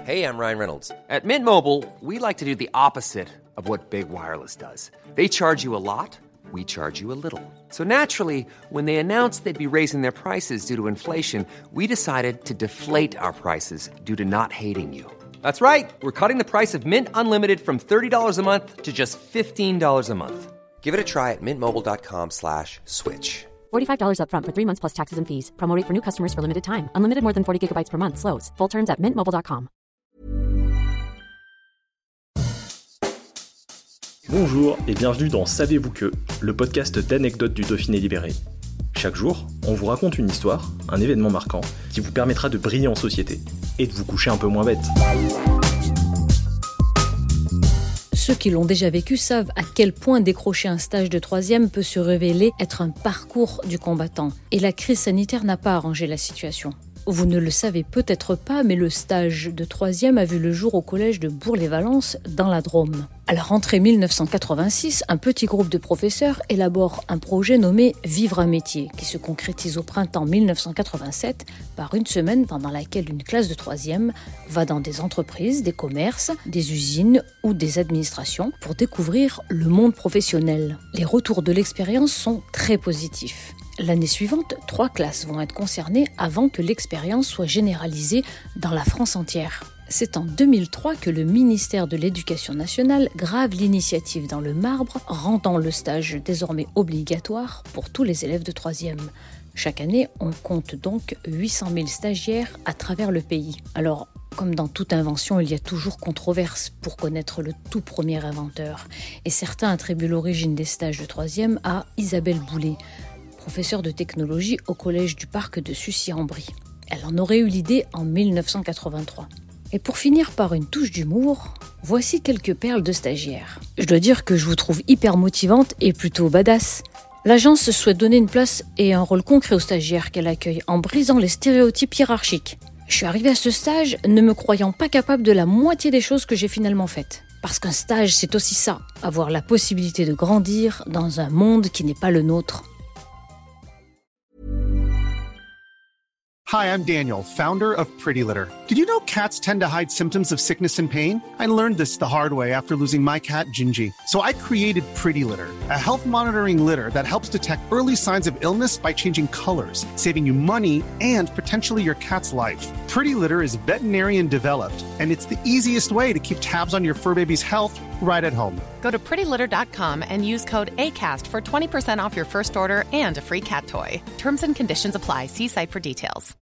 Hey, I'm Ryan Reynolds. At Mint Mobile, we like to do the opposite of what Big Wireless does. They charge you a lot, we charge you a little. So naturally, when they announced they'd be raising their prices due to inflation, we decided to deflate our prices due to not hating you. That's right. We're cutting the price of Mint Unlimited from $30 a month to just $15 a month. Give it a try at mintmobile.com/switch. $45 up front for 3 months plus taxes and fees. Promo rate for new customers for limited time. Unlimited more than 40 gigabytes per month. Slows full terms at mintmobile.com. Bonjour et bienvenue dans Savez-vous que, le podcast d'anecdotes du Dauphiné libéré. Chaque jour, on vous raconte une histoire, un événement marquant, qui vous permettra de briller en société et de vous coucher un peu moins bête. Ceux qui l'ont déjà vécu savent à quel point décrocher un stage de 3e peut se révéler être un parcours du combattant. Et la crise sanitaire n'a pas arrangé la situation. Vous ne le savez peut-être pas, mais le stage de 3e a vu le jour au collège de Bourg-les-Valences, dans la Drôme. À la rentrée 1986, un petit groupe de professeurs élabore un projet nommé « Vivre un métier » qui se concrétise au printemps 1987 par une semaine pendant laquelle une classe de 3e va dans des entreprises, des commerces, des usines ou des administrations pour découvrir le monde professionnel. Les retours de l'expérience sont très positifs. L'année suivante, 3 classes vont être concernées avant que l'expérience soit généralisée dans la France entière. C'est en 2003 que le ministère de l'Éducation nationale grave l'initiative dans le marbre, rendant le stage désormais obligatoire pour tous les élèves de 3e. Chaque année, on compte donc 800 000 stagiaires à travers le pays. Alors, comme dans toute invention, il y a toujours controverse pour connaître le tout premier inventeur. Et certains attribuent l'origine des stages de 3e à Isabelle Boulay, professeure de technologie au collège du parc de Sucy-en-Brie. Elle en aurait eu l'idée en 1983. Et pour finir par une touche d'humour, voici quelques perles de stagiaires. Je dois dire que je vous trouve hyper motivante et plutôt badass. L'agence souhaite donner une place et un rôle concret aux stagiaires qu'elle accueille en brisant les stéréotypes hiérarchiques. Je suis arrivée à ce stage ne me croyant pas capable de la moitié des choses que j'ai finalement faites. Parce qu'un stage, c'est aussi ça, avoir la possibilité de grandir dans un monde qui n'est pas le nôtre. Hi, I'm Daniel, founder of Pretty Litter. Did you know cats tend to hide symptoms of sickness and pain? I learned this the hard way after losing my cat, Gingy. So I created Pretty Litter, a health monitoring litter that helps detect early signs of illness by changing colors, saving you money and potentially your cat's life. Pretty Litter is veterinarian developed, and it's the easiest way to keep tabs on your fur baby's health right at home. Go to prettylitter.com and use code ACAST for 20% off your first order and a free cat toy. Terms and conditions apply. See site for details.